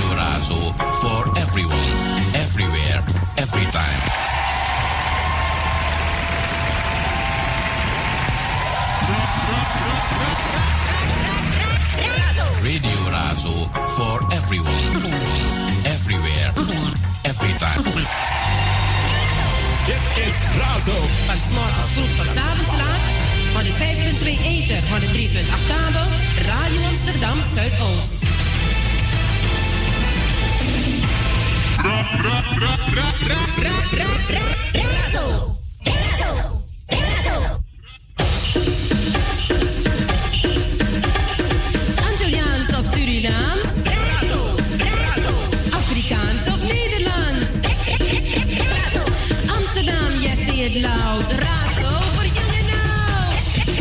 Radio Razo for everyone, everywhere, every time. Radio Razo for everyone, everywhere, every time. Dit is Razo. Van 's morgens vroeg tot 's avonds laat. 105.2 ether, 103.8 kabel. Radio Amsterdam Zuidoost. Razo. Antilliaans of Surinaams? Afrikaans of Nederlands? Amsterdam, yes, say it loud. Razo for young and old.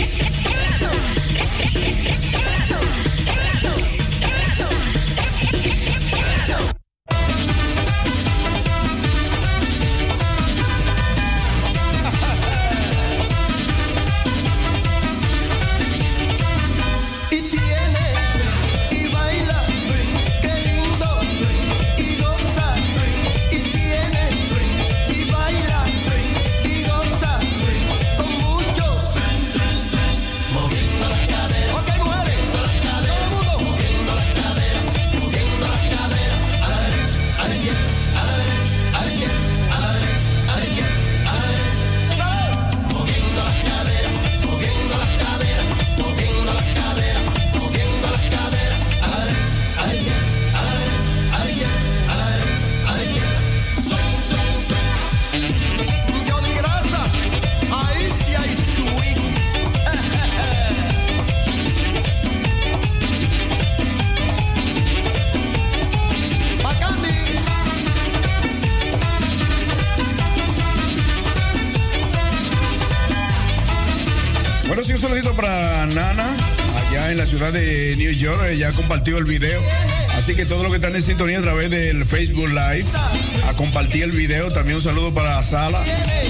Para Nana, allá en la ciudad de New York, ya compartió el video. Así que todos los que están en sintonía a través del Facebook Live, a compartir el video. También un saludo para Sala.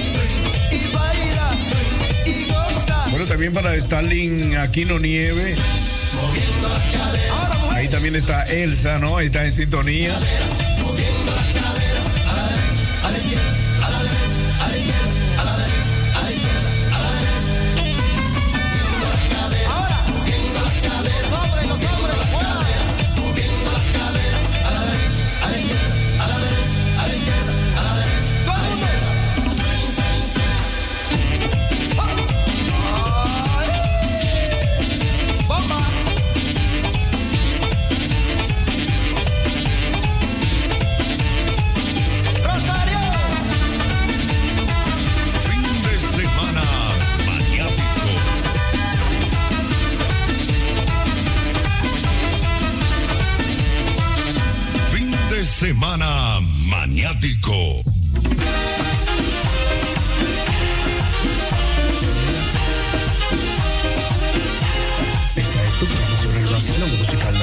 Bueno, también para Starling Aquino Nieve. Ahí también está Elsa, ¿no? Ahí está en sintonía. Semana Maniático. Esta es tu promoción en Brasil, musical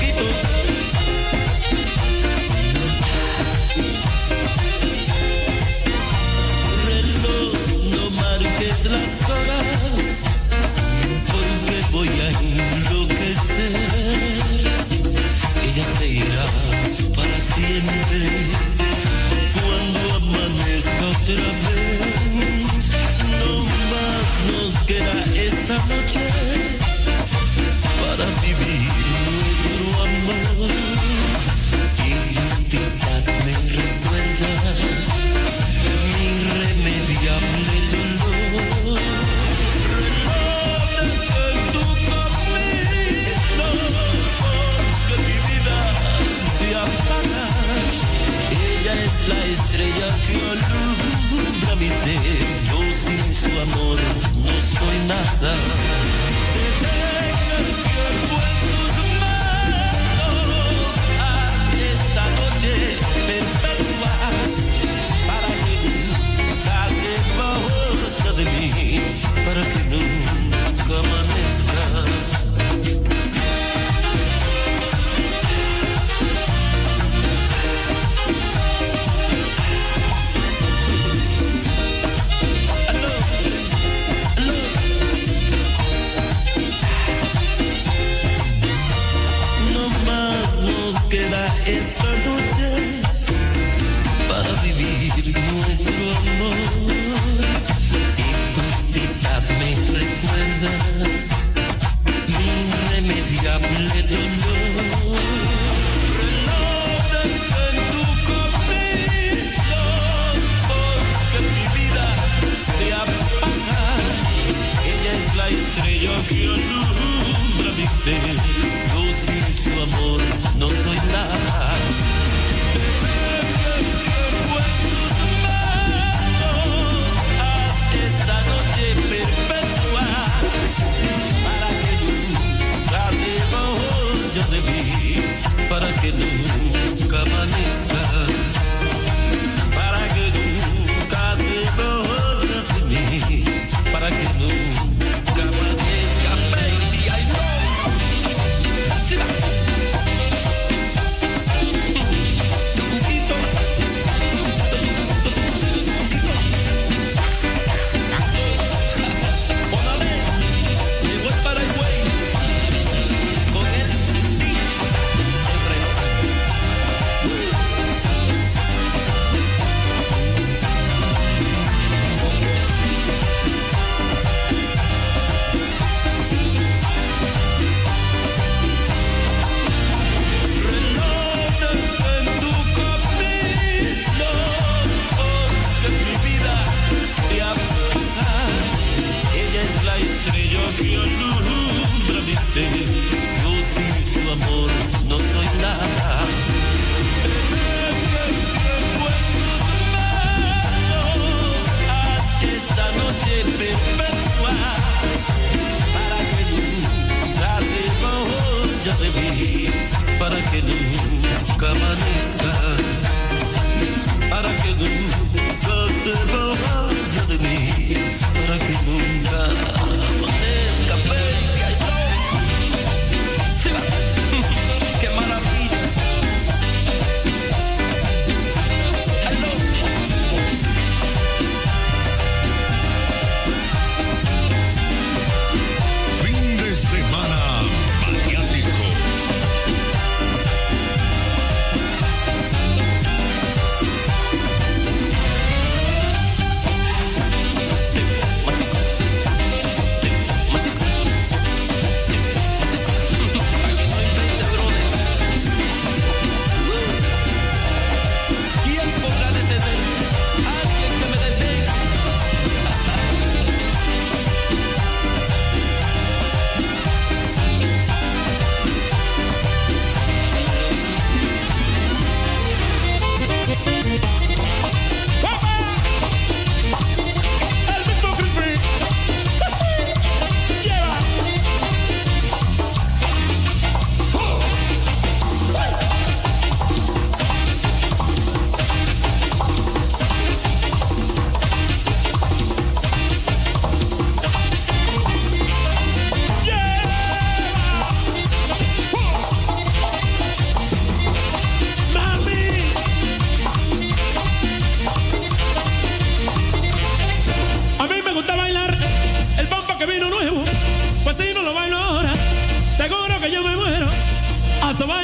Reloj, no marques las horas, porque voy a enloquecer. Ella se irá para siempre cuando amanezca otra vez. No más nos queda esta noche para vivir nuestro amor. Identidad me recuerda mi irremediable dolor. Reloj en tu camino, porque mi vida se apaga. Ella es la estrella que alumbra mi ser. Yo sin su amor no soy nada. Detén el tiempo en tus manos. Haz esta noche perpetua para que nunca sepa otra de mí, para que nunca amanezca.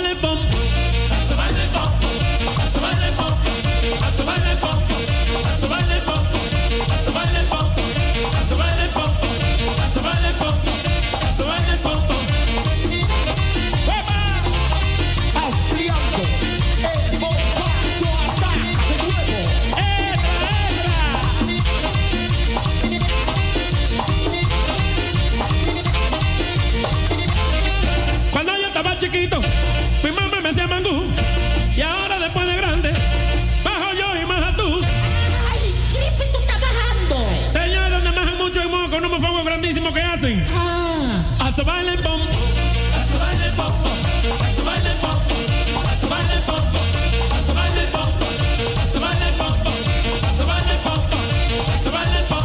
baile pom, a su baile pom, a su baile pom, a su baile pom, a su baile pom, a su baile pom, a su baile pom, a su baile pom, a su baile pom. Austriaco, el bombazo ataca de nuevo. Cuando yo estaba chiquito, mi mamá me hacía mangú. Y ahora después de grande, bajo yo y maja tú. Ay, Crispy, tú estás bajando. Señores, donde majan mucho y moco, con unos fuegos grandísimos que hacen. A su baile pom, a su baile pom, a su baile pom, a su baile pom, a su baile pom, a su baile pom, a su baile pom, a su baile pom.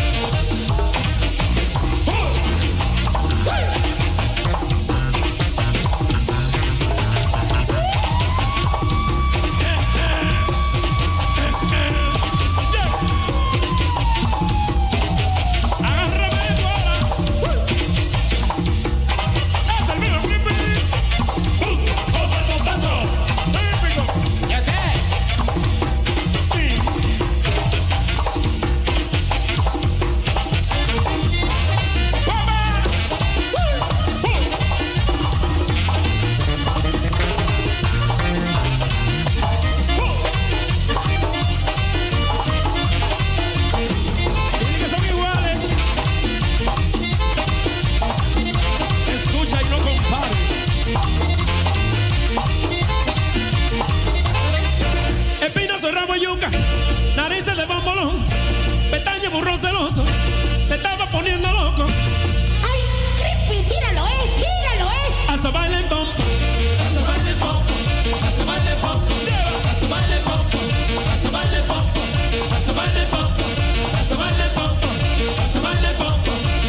Narices de bombolón, pestaña burro celoso, se estaba poniendo loco. Ay, Crispy, míralo, míralo, A su baile pom, a su baile pom, a su baile pom, a su baile pom, a su baile pom, a su baile pom, a su baile pom, a su baile pom.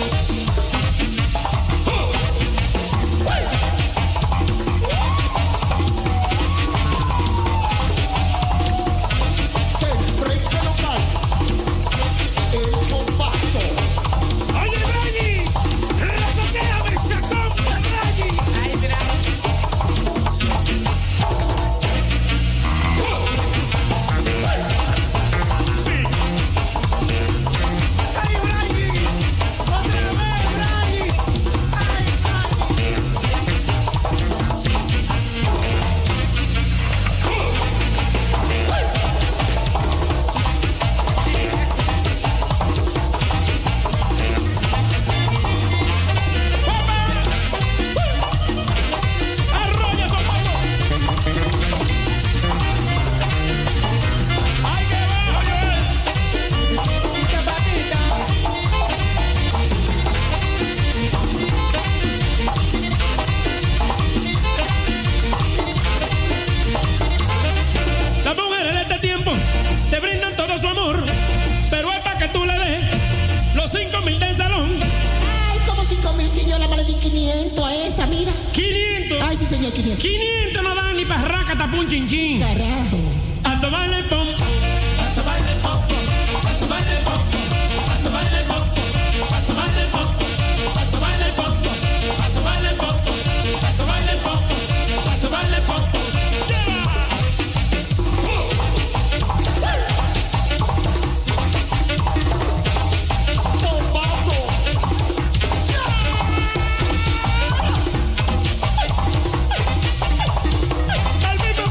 Su amor, pero es para que tú le des los 5,000 del salón. Ay, como 5,000, si yo la le di 500 a esa, mira. 500. Ay, sí, señor, 500. 500 no dan ni para raca tapun chin chin. Carajo. A tu baile pom, a tu baile pom, a tu baile pom, a tu baile pom, a tu baile pom, a tu baile pom, a tu baile pom, a tu baile pom, a tu baile pom.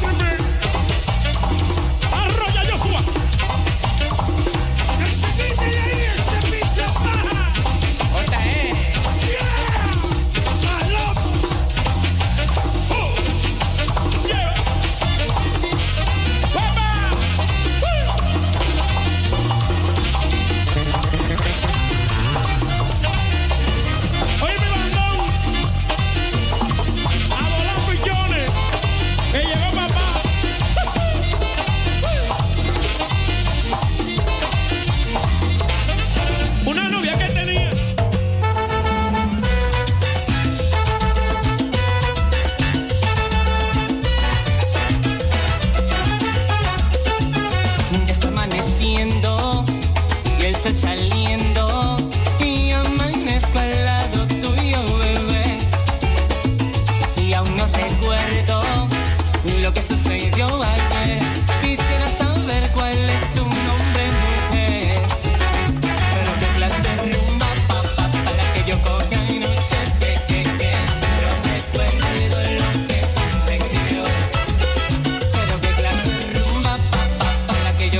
Arroya Joshua.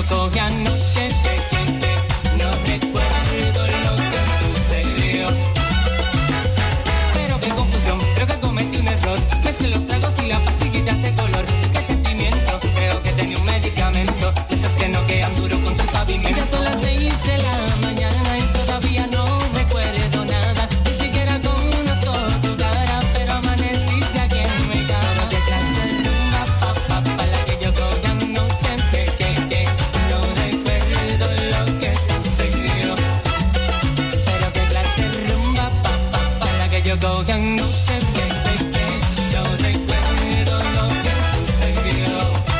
cogí anoche, no recuerdo lo que sucedió. Pero qué confusión, creo que cometí un error. Mezclé los tragos y las pastillitas de color. Qué sentimiento, creo que tenía un medicamento. Esas que no quedan duro contra el pavimento. Ya son las 6 de la mañana y todavía no recuerdo nada. Ni siquiera conozco tu cara, pero amaneciste aquí en mi cama. Qué clase de rumba, pa, la que yo cogí anoche, no recuerdo lo que sucedió. Pero qué clase de rumba, pa, la que yo cogí anoche, no recuerdo lo que sucedió.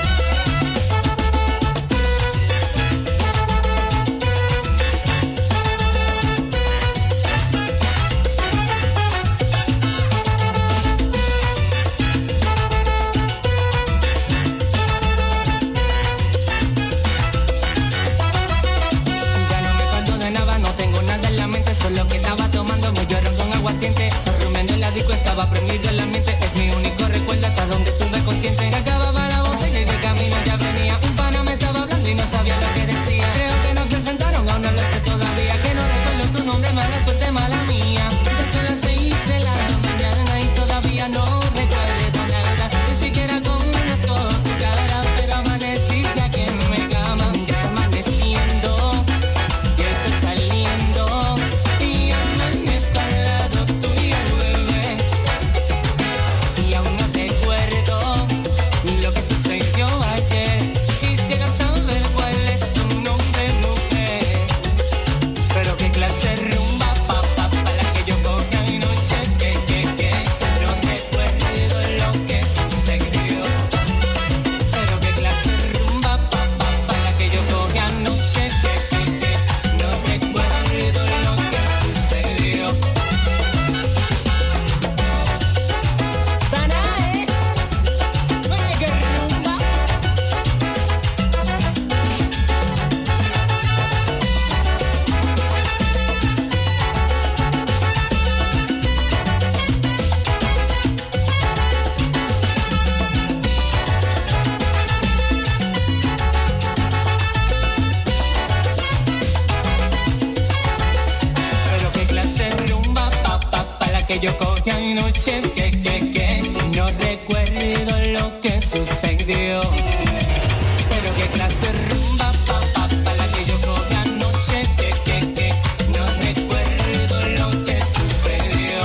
Solo que estaba tomando mucho ron con aguardiente. Rumiando el disco, estaba prendido el ambiente. Es mi único recuerdo hasta donde estuve consciente. Se acababa la botella y de camino ya venía. Un pana me estaba hablando y no sabía lo que decía. Creo que nos presentaron, aún no lo sé todavía. Que no recuerdo tu nombre, mala suerte, mala mía. Ya son las 6 de la mañana y todavía no recuerdo nada. Ni siquiera conozco tu cara, pero amaneciste aquí en mi cama. Ya está amaneciendo y el sol saliendo. Que yo cogí anoche, no recuerdo lo que sucedió. Pero qué clase de rumba, pa, la que yo cogí anoche, no recuerdo lo que sucedió.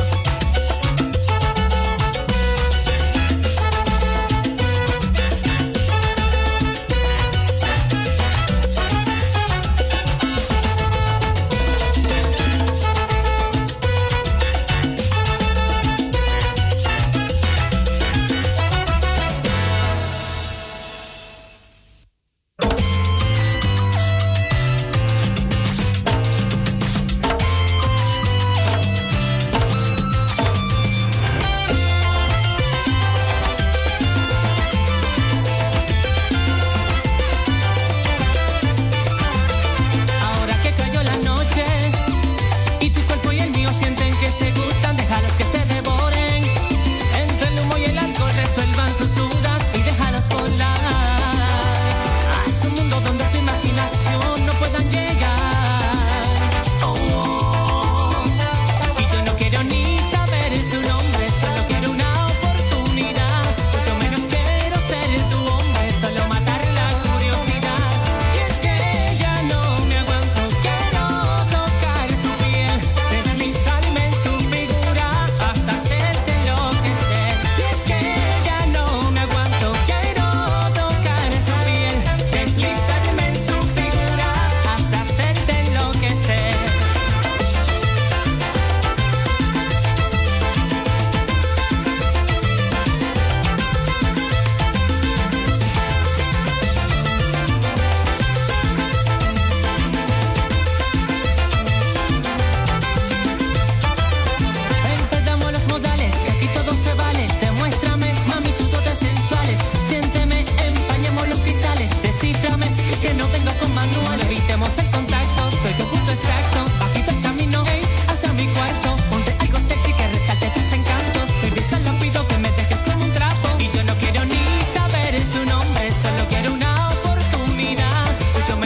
Mucho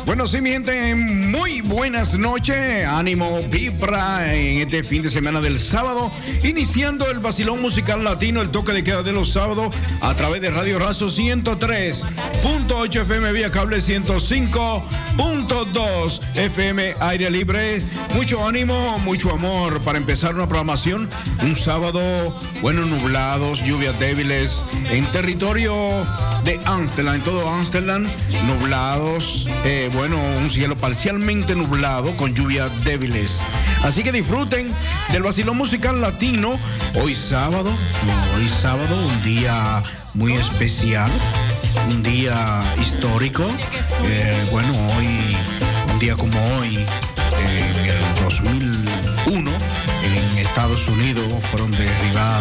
Bueno, sí, mi gente, muy buenas noches. Ánimo, vibra en este fin de semana del sábado, iniciando el vacilón musical latino, el toque de queda de los sábados, a través de Radio Razo 103.8 FM vía cable, 105.2 FM aire libre. Mucho ánimo, mucho amor para empezar una programación. Un sábado, bueno, nublados, lluvias débiles en territorio de Ámsterdam, en todo Ámsterdam, nublados, bueno, un cielo parcialmente nublado con lluvias débiles. Así que disfruten del vacilón musical latino. Hoy sábado, un día muy especial, un día histórico. Bueno, hoy, un día como hoy, en el 2001, en Estados Unidos fueron derribadas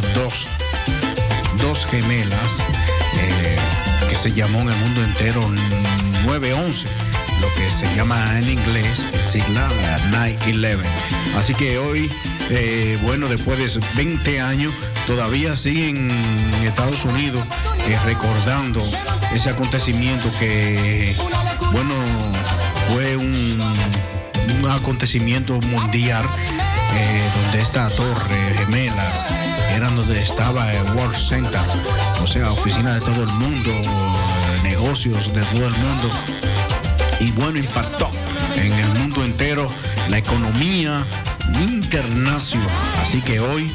dos gemelas, que se llamó en el mundo entero 9/11, lo que se llama en inglés el sigla 9/11. Así que hoy, bueno, después de 20 años, todavía siguen en Estados Unidos recordando ese acontecimiento que, bueno, fue un acontecimiento mundial, donde esta torre gemelas eran donde estaba el World Center, o sea, oficina de todo el mundo, negocios de todo el mundo, y bueno, impactó en el mundo entero la economía internacional. Así que hoy,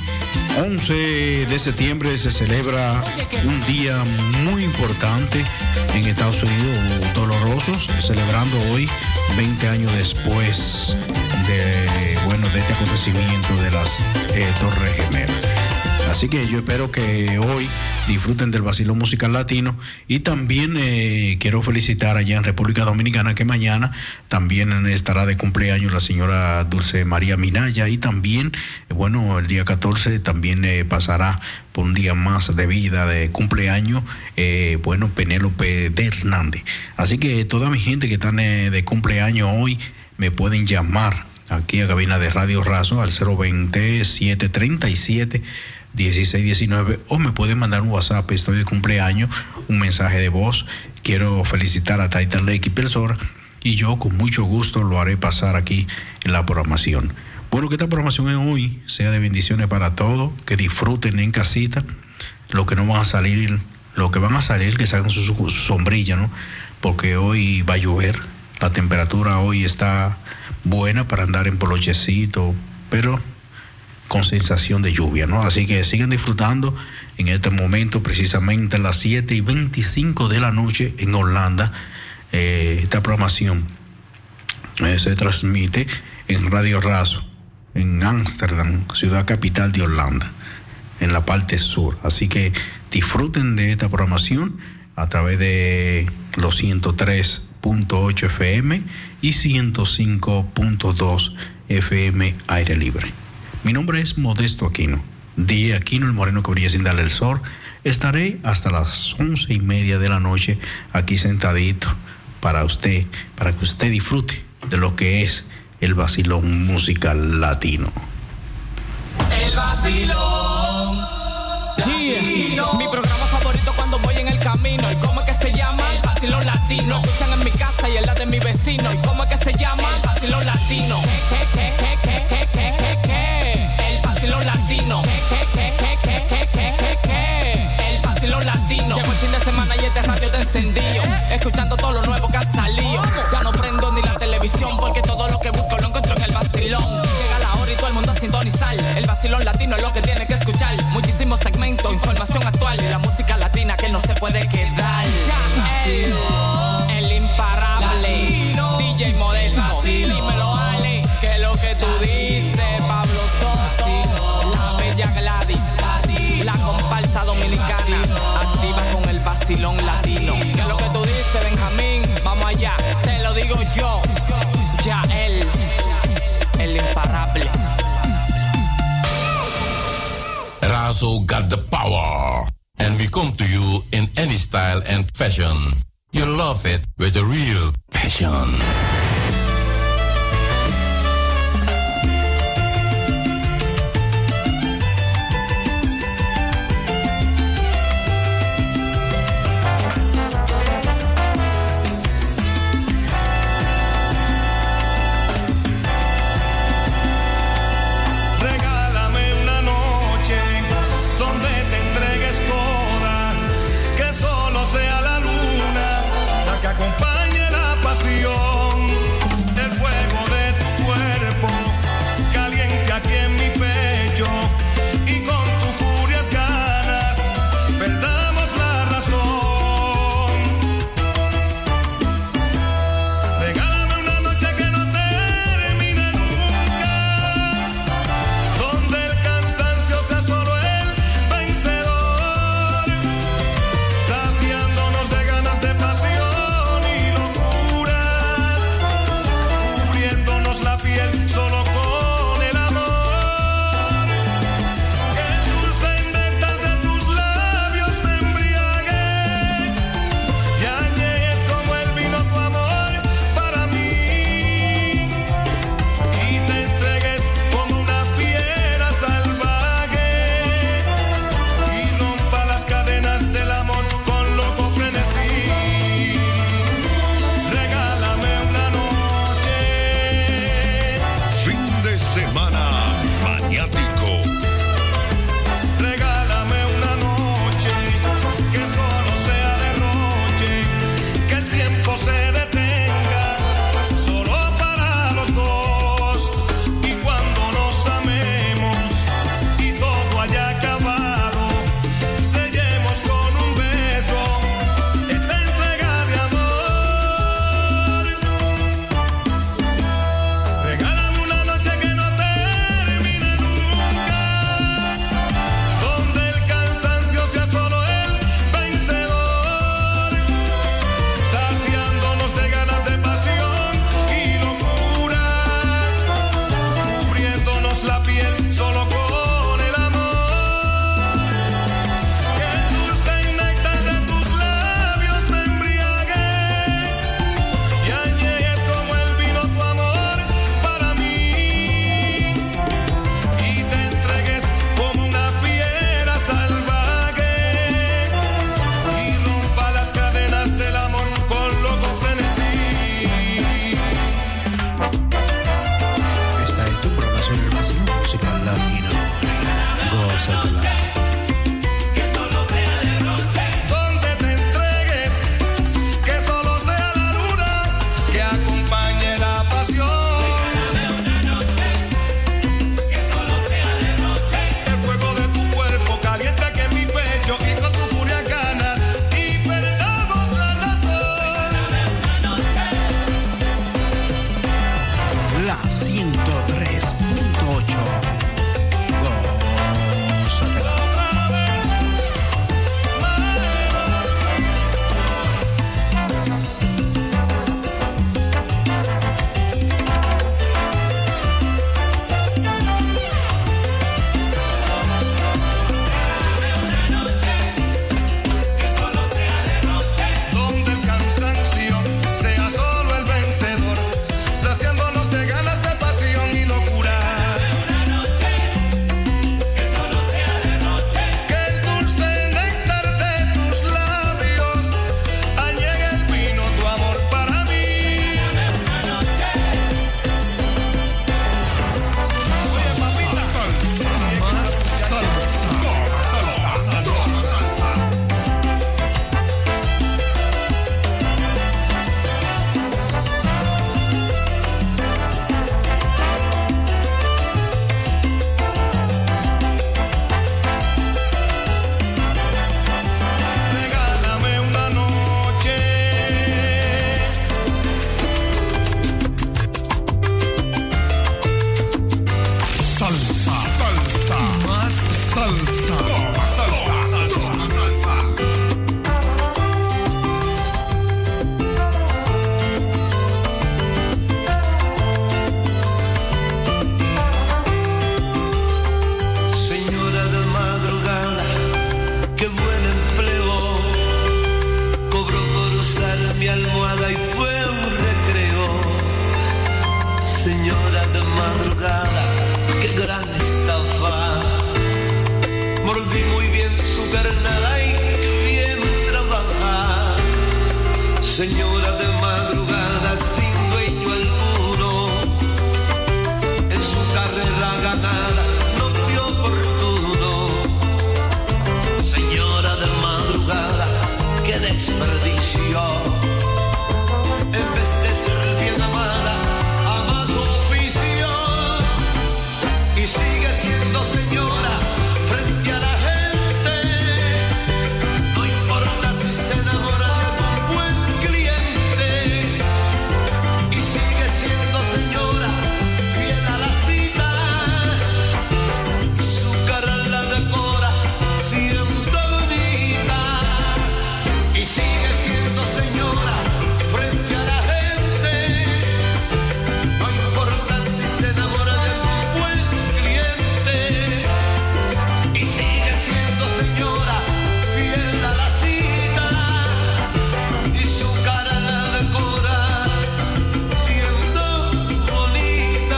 11 de septiembre, se celebra un día muy importante en Estados Unidos, dolorosos, celebrando hoy 20 años después de este acontecimiento de las Torres Gemelas. Así que yo espero que hoy disfruten del vacilón musical latino, y también quiero felicitar allá en República Dominicana que mañana también estará de cumpleaños la señora Dulce María Minaya, y también, bueno, el día 14 también pasará por un día más de vida, de cumpleaños, bueno, Penélope de Hernández. Así que toda mi gente que están de cumpleaños hoy me pueden llamar aquí a cabina de Radio Razo al 020-737-1619, o me pueden mandar un WhatsApp: estoy de cumpleaños, un mensaje de voz, quiero felicitar a Taita Lecky Persora, y yo con mucho gusto lo haré pasar aquí en la programación. Bueno, que esta programación en hoy sea de bendiciones para todos, que disfruten en casita, los que no van a salir, los que van a salir, que salgan su sombrilla, ¿no? Porque hoy va a llover, la temperatura hoy está buena para andar en polochecito, pero con sensación de lluvia, ¿no? Así que sigan disfrutando en este momento, precisamente a las 7:25 de la noche en Holanda. Esta programación se transmite en Radio Razo, en Ámsterdam, ciudad capital de Holanda, en la parte sur. Así que disfruten de esta programación a través de los 103.8 FM y 105.2 FM aire libre. Mi nombre es Modesto Aquino, DJ Aquino, el moreno que brilla sin darle el sol. Estaré hasta las 11:30 de la noche aquí sentadito para usted, para que usted disfrute de lo que es el vacilón musical latino. El vacilón latino. Mi programa favorito cuando voy en el camino. ¿Y cómo es que se llama? El vacilón latino. Lo escuchan en mi casa y en la de mi vecino. ¿Y cómo es que se llama? El vacilón latino. El vacilón latino. El vacilón latino. Llegó el fin de semana y este radio te encendido, escuchando todo lo nuevo que ha salido. Ya no prendo ni la televisión, porque todo lo que busco lo encuentro en el vacilón. Llega la hora y todo el mundo a sintonizar. El vacilón latino es lo que tiene que escuchar. Muchísimos segmentos, información actual y la música latina que no se puede quedar. El imparable DJ Modesto, dímelo Ale, que lo que tú dices, Pablo Soto, la bella Gladys, la comparsa dominicana, activa con el vacilón latino. Que lo que tú dices, Benjamín, vamos allá, te lo digo yo, ya el imparable. Razo got the power, and we come to you in any style and fashion. You love it with a real passion. Señora de madrugada, qué gran estafa. Mordí muy bien su carnada y qué bien trabaja. Señora de madrugada, sin dueño alguno, en su carrera ganada no fue oportuno. Señora de madrugada, qué desperdicio. En vez de ser bien amada, ama su oficio y sigue siendo señora frente a la gente. No importa si se enamora de algún buen cliente y sigue siendo señora fiel a la cita. Su cara la decora siendo bonita y sigue siendo señora frente a la gente. No importa si se enamora de algún buen cliente y sigue siendo señora fiel a la cita y su cara la decora siendo bonita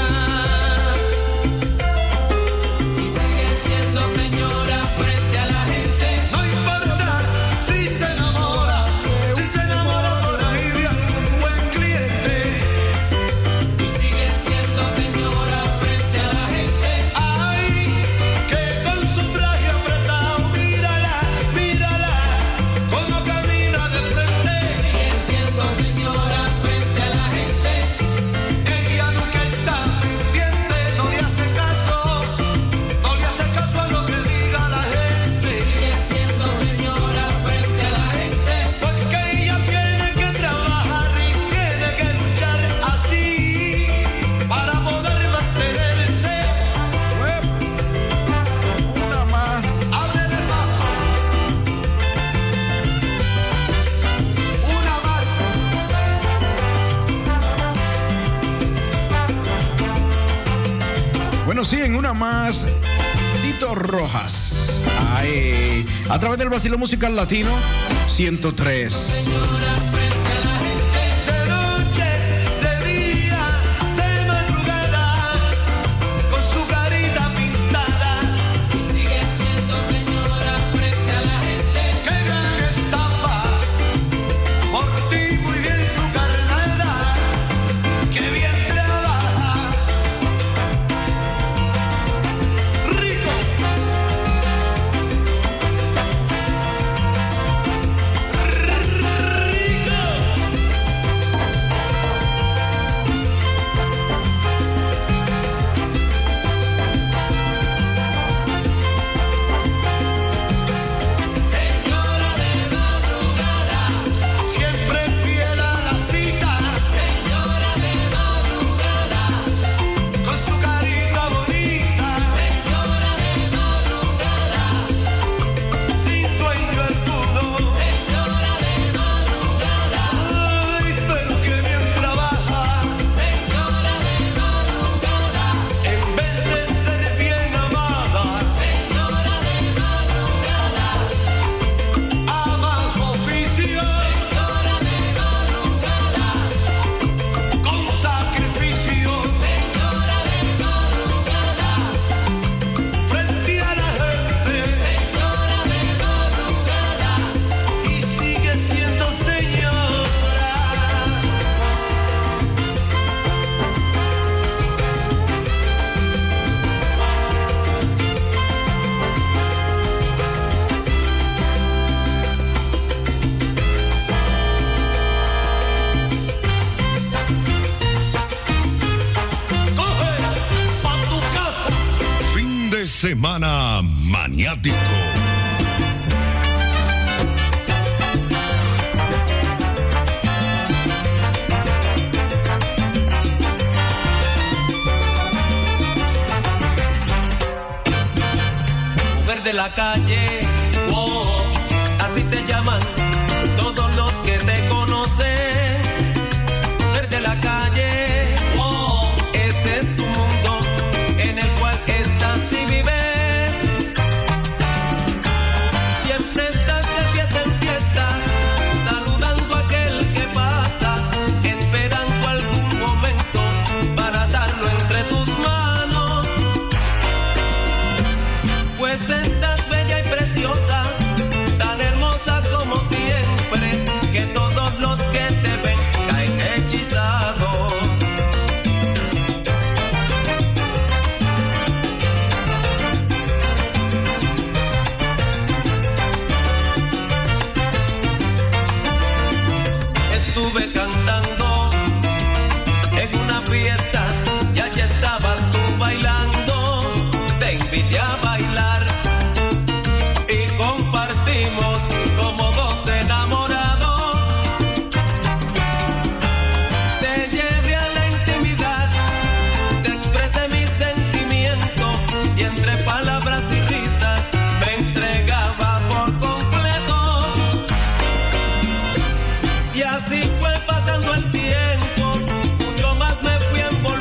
y sigue siendo señora frente a la gente. No importa si se enamora por ahí de algún buen cliente y sigue siendo señora frente a la gente. Ay, que con su traje apretado, mírala, mírala, como camina de frente. Sigue siendo señora frente a la gente. Ella nunca está pendiente, no le hace caso a lo que diga la gente. Sigue siendo señora frente a la gente. Porque ella tiene que trabajar y tiene que luchar así para poder mantenerse. Una más. Abre de paso. Una más. Bueno, sí, en una más. Tito Rojas. Ay, a través del Vacilón Musical Latino 103. De noche, de día, de madrugada, con su carita pintada. Y sigue siendo señora frente a la gente. ¡Qué gran estafa! Por ti muy bien su carnada, ¡qué bien trabaja! ¡Rico! Señora de madrugada, siempre fiel a la cita. Señora de madrugada, con su carita bonita. Señora de madrugada, sin dueño alguno. Señora de madrugada, ay, pero que bien trabaja. Señora de madrugada, en vez de ser bien amada. Señora de madrugada, ama su oficio. Señora de madrugada, con sacrificio. Señora de madrugada, frente a la gente. Señora de madrugada, y sigue siendo señora. Coge pa' tu casa. Fin de semana maniático. Mujer de la calle, oh, así te llaman todos los que te conocen. Mujer de la calle, oh, ese es tu mundo en el cual estás y vives. Siempre estás de fiesta en fiesta, saludando a aquel que pasa, esperando algún momento para dar fiesta y allí estabas tú bailando. Te invité a bailar y compartimos como dos enamorados. Te llevé a la intimidad, te expresé mi sentimiento y entre palabras y risas me entregaba por completo. Y así fue pasando el tiempo, mucho más me fui envolviendo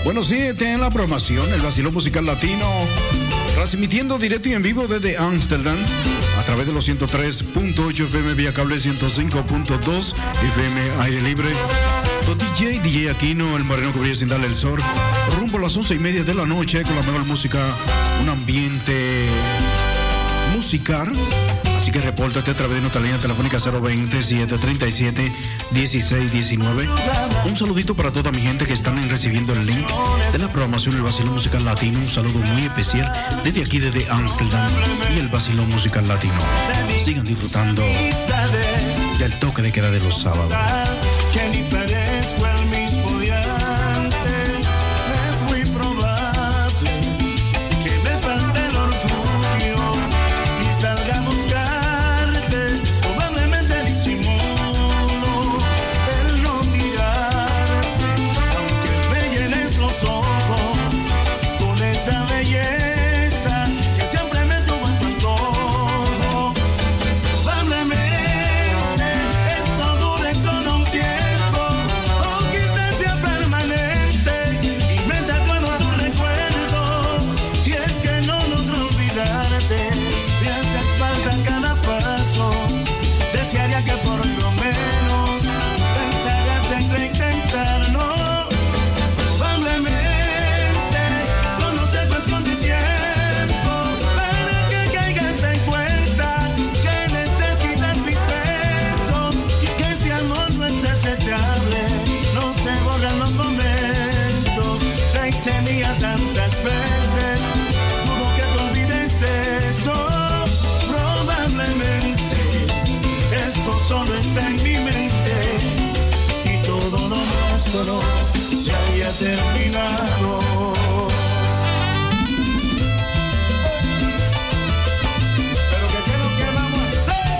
Bueno, sí, en la programación, el Vacilón Musical Latino, transmitiendo directo y en vivo desde Ámsterdam, a través de los 103.8 FM vía cable, 105.2 FM aire libre. Con DJ Aquino, el moreno que brilla sin darle el sol, rumbo a las 11:30 de la noche con la mejor música, un ambiente musical. Así que repórtate a través de nuestra línea telefónica 020-737-1619. Un saludito para toda mi gente que están recibiendo el link de la programación del Vacilón Musical Latino. Un saludo muy especial desde aquí, desde Ámsterdam y el Vacilón Musical Latino. Sigan disfrutando del toque de queda de los sábados. Que ni parezco el mismo de antes. Es muy probable que me falte el orgullo y salga a buscarte. Probablemente disimulo el no mirarte, aunque me llenes los ojos con esa belleza que siempre me tuvo en tu antojo. Probablemente esto dure solo un tiempo, o quizás sea permanente, y me tatuado tu recuerdo. Y es que no logro olvidarte, me hace falta cada paso. Desearía que por lo menos pensaras en reintentarlo. Probablemente solo sea cuestión de tiempo para que caigas en cuenta que necesitas mis besos y que ese amor no es desechable. No se borran los momentos, te hice mía tantas veces. Dudo que te olvides eso. Probablemente esto solo está en mi mente y todo lo nuestro ya había terminado. Pero ¿qué es lo que vamos a hacer?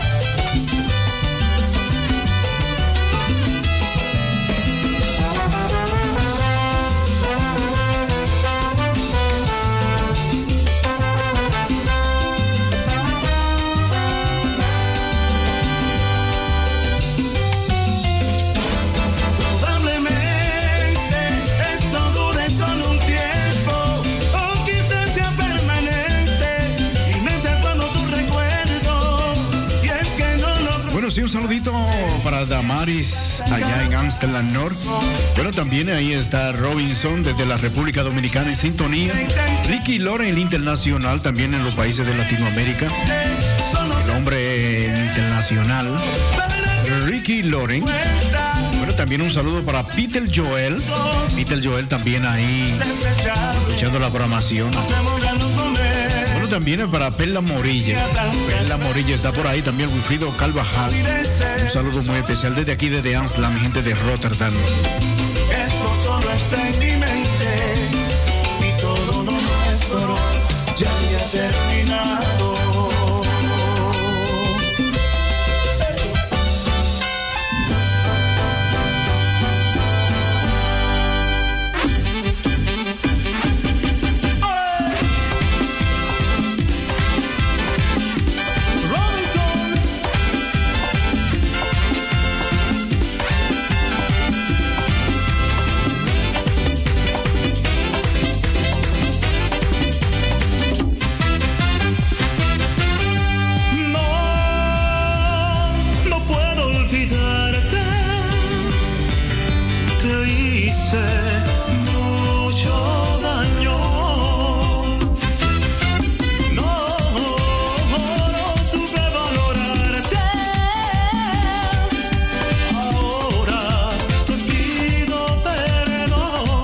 Probablemente esto dure solo un tiempo, o quizás sea permanente, y me tatuando tu recuerdo. Y es que no logro. Bueno, sí, un saludito para Damaris allá en Amsterdam North. Bueno, también ahí está Robinson desde la República Dominicana en sintonía. Ricky Loren, el internacional, también en los países de Latinoamérica. El hombre internacional, Ricky Loren. Bueno, también un saludo para Peter Joel. Peter Joel también ahí escuchando la programación. Bueno, también para Perla Morilla. Perla Morilla está por ahí, también Wilfrido Carvajal. Un saludo muy especial desde aquí, desde Amsterdam, gente de Rotterdam. Esto solo está en mi mente y todo lo nuestro ya había terminado. No puedo olvidarte, te hice mucho daño. No supe valorarte. Ahora te pido perdón.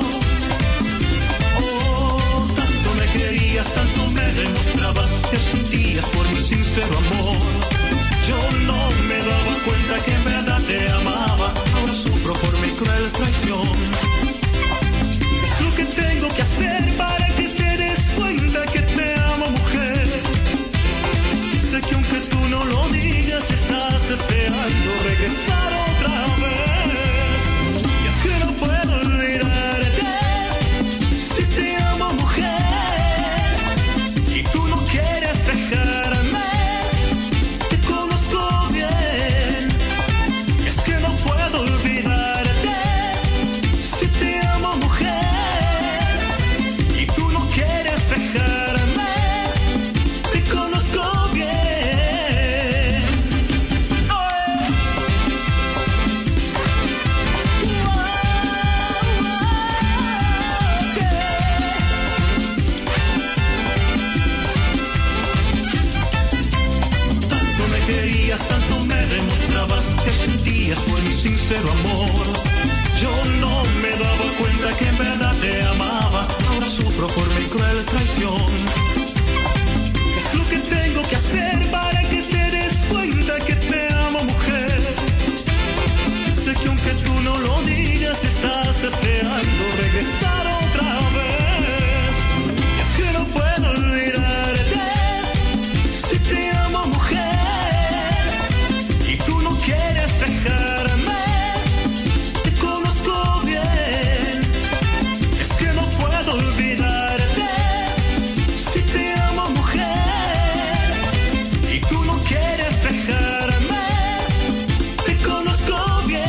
Oh, tanto me querías, tanto me demostrabas que sentías por mi sincero amor. Yo no me daba cuenta que en verdad te amaba. Ahora sufro por mi cruel traición. Es lo que tengo que hacer para que te des cuenta que te amo, mujer. Sé que aunque tú no lo digas, estás deseando regresar otra vez. Y es que no puedo olvidarte. Si te amo, mujer, y tú no quieres dejarme, sincero amor. Yo no me daba cuenta que en verdad te amaba. Ahora sufro por mi cruel traición. ¿Qué es lo que tengo que hacer para que te des cuenta que te amo, mujer? Sé que aunque tú no lo digas, estás deseando regresar otra vez. Y es que no puedo olvidarte. Si te amo, mujer, y tú no quieres dejarme, te conozco bien. Es que no puedo olvidarte. Si te amo, mujer, y tú no quieres dejarme, te conozco bien.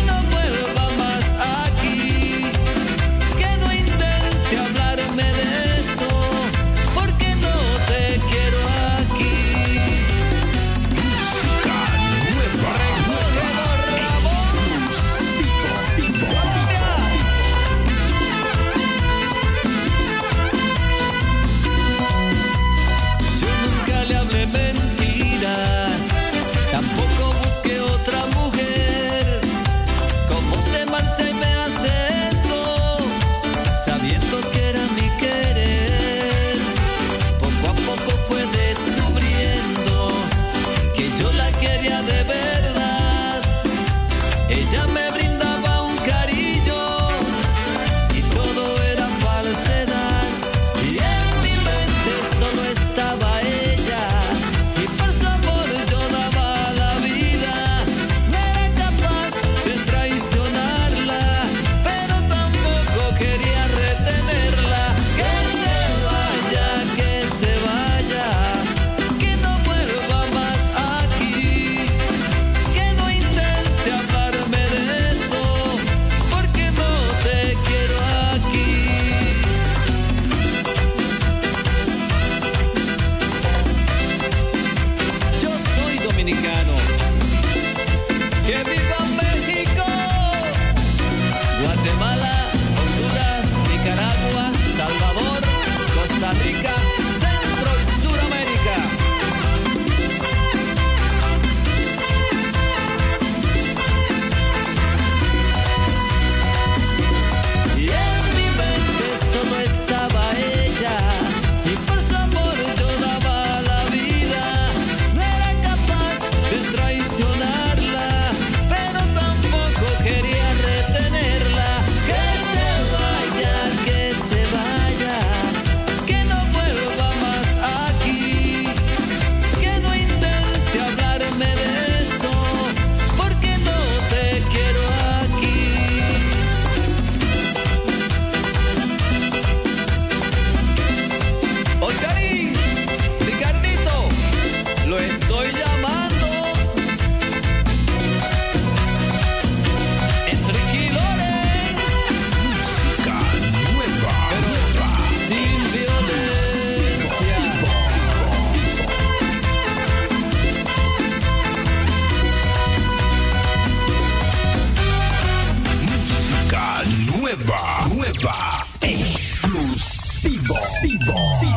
Que no intente hablarme de Sivo.